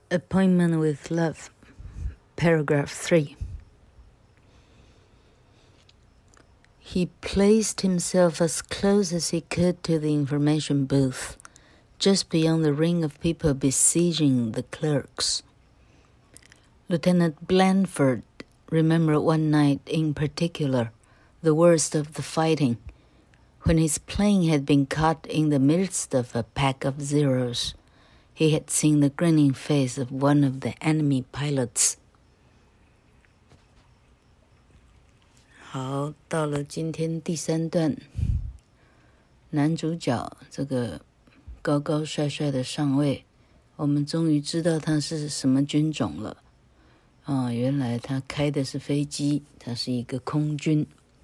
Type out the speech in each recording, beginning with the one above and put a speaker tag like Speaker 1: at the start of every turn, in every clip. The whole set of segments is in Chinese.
Speaker 1: Appointment with Love, paragraph 3. He placed himself as close as he could to the information booth, just beyond the ring of people besieging the clerks. Lieutenant Blandford remembered one night in particular, the worst of the fighting, when his plane had been caught in the midst of a pack of Zeros. He had seen the grinning face of one of the enemy pilots. 好，到了今天第3段，男主角這個高高帥帥的上尉，我們終於知道他是什麼軍種了。原來他開的是飛機，他是一個空軍。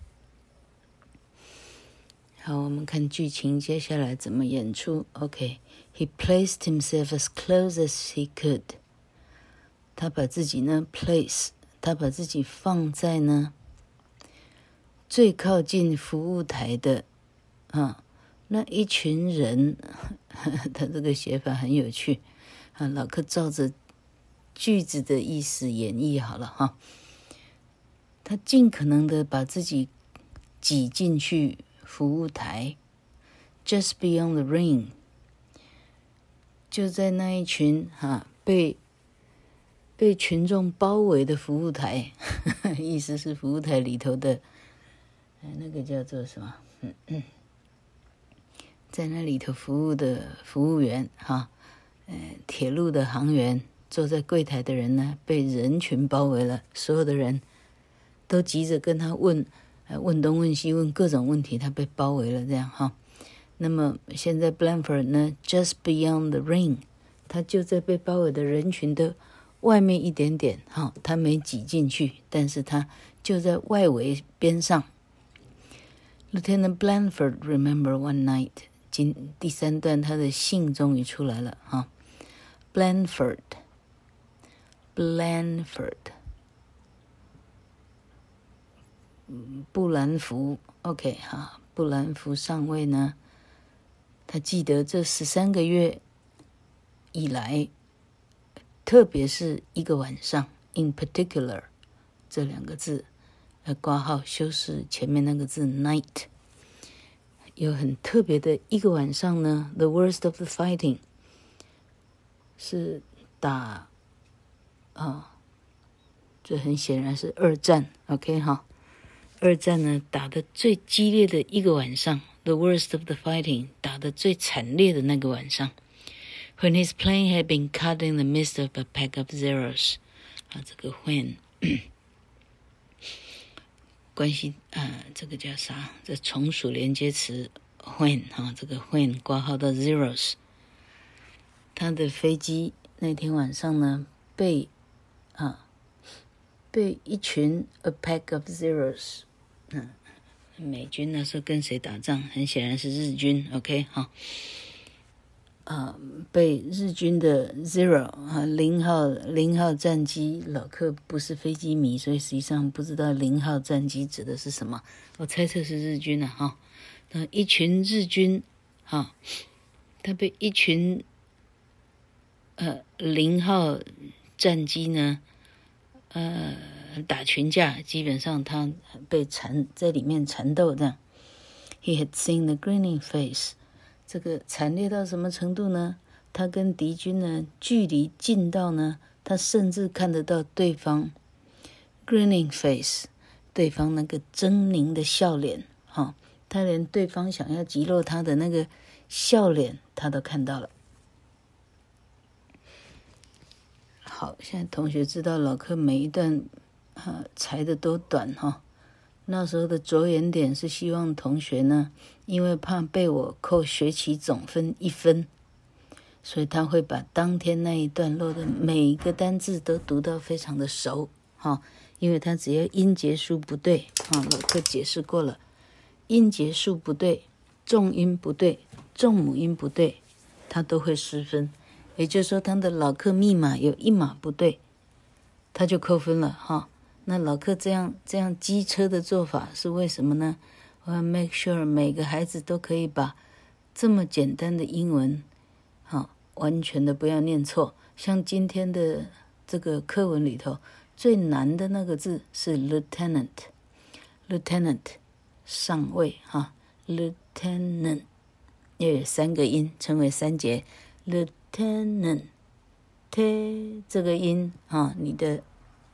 Speaker 1: 好，我們看劇情接下來怎麼演出。He placed himself as close as he could. 他把自己呢 place， 他把自己放在呢最靠近服務台的那一群人。他這個寫法很有趣老柯照着句子的意思演繹好了他盡可能的把自己擠進去服務台 just beyond the ring， 就在那一群被群眾包圍的服務台意思是服務台裡頭的那個叫做什麼在那裡頭服務的服務員鐵路的航員，坐在櫃檯的人呢被人群包圍了，所有的人都急着跟他問東問西，問各種問題，他被包圍了這樣那麼現在 Blandford 呢 just beyond the ring， 他就在被包圍的人群的外面一點點他沒擠進去，但是他就在外圍邊上。Lieutenant Blandford remembered one night， 第3段他的姓終於出來了Blandford 布蘭福 OK 布蘭福上尉呢，他記得這13個月以來，特別是一個晚上 in particular 這2個字括號修飾前面那個字 night， 有很特別的一個晚上呢 the worst of the fighting 是打這很顯然是二戰 OK 二戰呢打得最激烈的一個晚上 the worst of the fighting 打得最慘烈的那個晚上 when his plane had been caught in the midst of a pack of Zeros 這個 when 關係這個叫啥？這從屬連接詞 when 這個 when 括號到 Zeros， 他的飛機那天晚上呢被一群 a pack of Zeros， 美軍那時候跟誰打仗？很顯然是日軍 OK 被日軍的 Zero 0號戰機，老柯不是飛機迷，所以實際上不知道0號戰機指的是什麼，我猜測是日軍那一群日軍他被一群0號戰機呢打群架，基本上他被在裡面纏鬥這樣。He had seen the grinning face， 這個慘烈到什麼程度呢？他跟敵軍呢距離近到呢，他甚至看得到對方 grinning face， 對方那個猙獰的笑臉他連對方想要擊落他的那個笑臉他都看到了。好，現在同學知道老柯每一段裁的都短那時候的着眼點是希望同學呢，因為怕被我扣學期總分1分，所以他會把當天那一段落的每一個單字都讀到非常的熟因為他只要音節數不對老柯解釋過了，音節數不對，重音不對，重母音不對，他都會失分。也就是說他的老柯密碼有1碼不對，他就扣分了那老柯這樣機車的做法是為什麼呢？我要 make sure 每個孩子都可以把這麼簡單的英文完全的不要念錯。像今天的這個課文裡頭，最難的那個字是 lieutenant，lieutenant 上尉哈 ，lieutenant 要有3個音，稱為3節 lieutenant。t 這個音啊，你的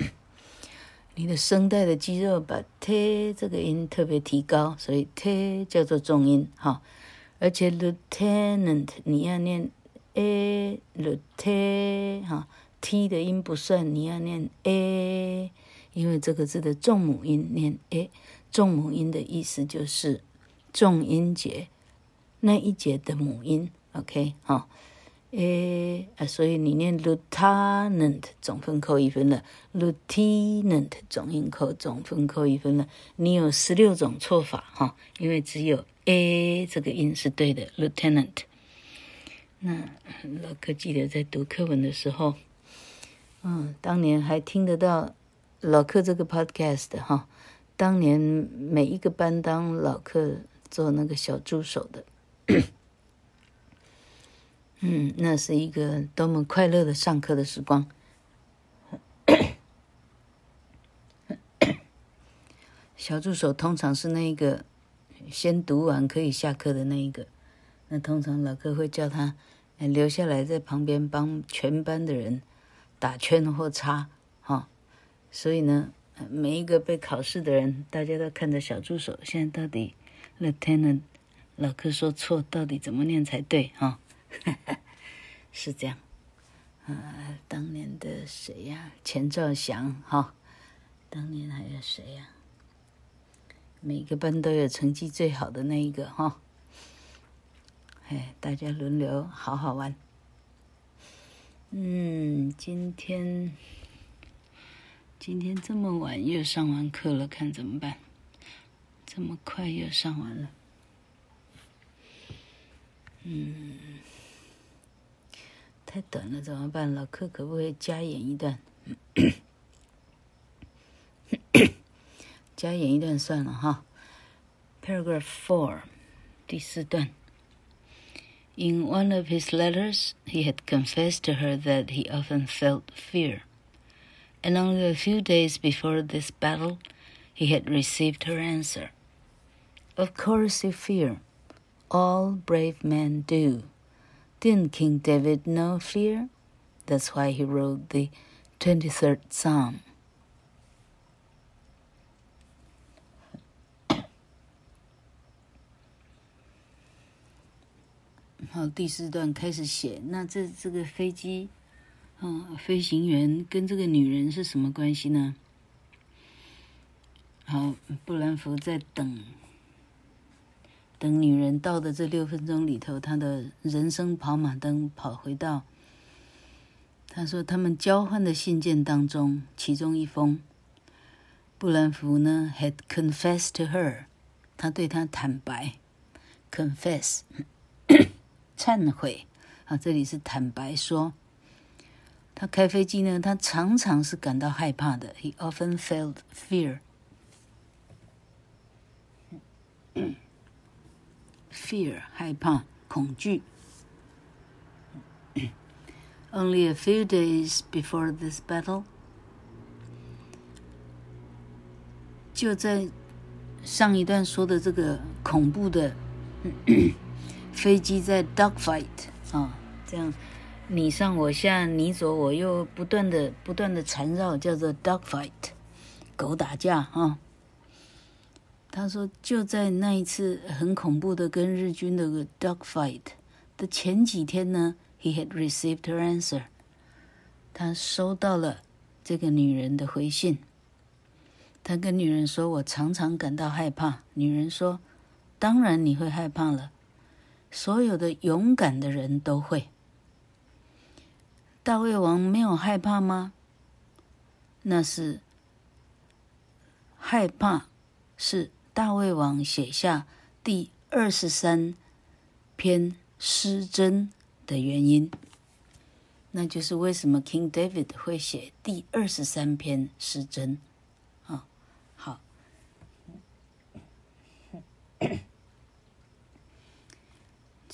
Speaker 1: 聲帶的肌肉把 t 這個音特別提高，所以 t 叫做重音哈。而且 lieutenant 你要念 a lieutenant 哈 ，t 的音不算，你要念 a， 因為這個字的重母音念 a， 重母音的意思就是重音節那一節的母音 ，OK 哈。所以你念 lieutenant 總分扣1分了 ，lieutenant 總分扣1分了。你有16種錯法哈，因為只有 a 這個音是對的 ，lieutenant。那老柯記得在讀課文的時候，當年還聽得到老柯這個 podcast 哈。當年每一個班當老柯做那個小助手的。那是一個多麼快樂的上課的時光。小助手通常是那個先讀完可以下課的那一個，那通常老師會叫他留下來在旁邊幫全班的人打圈或叉，所以呢，每一個被考試的人，大家都看着小助手，現在到底 Lieutenant 老師說錯，到底怎麼念才對哈？是這樣，當年的誰呀？錢兆祥哈，當年還有誰呀？每個班都有成績最好的那一個哈，大家輪流，好好玩。今天這麼晚又上完課了，看怎麼辦？這麼快又上完了。太短了怎麼辦？老課可不可以加演一段？加演一段算了哈。Paragraph 4， 第4段。In one of his letters, he had confessed to her that he often felt fear, and only a few days before this battle, he had received her answer. Of course you fear. All brave men do. Didn't King David know fear? That's why he wrote the 23rd Psalm. 好，第4段開始寫。那這個飛機，飛行員跟這個女人是什麼關係呢？好，布蘭福在等女人到的這6分鐘裡頭，他的人生跑馬燈跑回到，他說他們交換的信件當中，其中一封，布蘭福呢 had confessed to her， 他對她坦白 ，confess 懺悔啊，這裡是坦白說，他開飛機呢，他常常是感到害怕的 ，he often felt fear。Fear 害怕恐懼。Only a few days before this battle， 就在上一段說的這個恐怖的飛機在 dogfight 這樣你上我下，你左我右，不斷的纏繞，叫做 dogfight， 狗打架他說，就在那一次很恐怖的跟日軍的 dogfight 的前幾天呢 ，he had received her answer， 他收到了這個女人的回信。他跟女人說：“我常常感到害怕。”女人說：“當然你會害怕了，所有的勇敢的人都會。”大衛王沒有害怕嗎？那是害怕是大衛王寫下第23篇詩箴的原因，那就是為什麼 King David 會寫第23篇詩箴。好，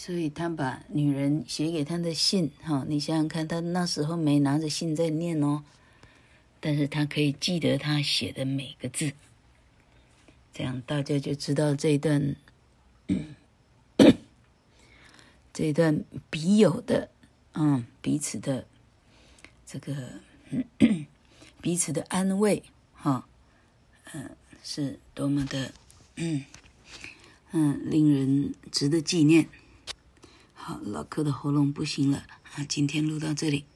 Speaker 1: 所以他把女人寫給他的信，你想想看，他那時候沒拿着信在念哦，但是他可以記得他寫的每個字，這樣大家就知道這一段筆友的，彼此的這個彼此的安慰，是多麼的，令人值得紀念。好，老柯的喉嚨不行了，今天錄到這裡。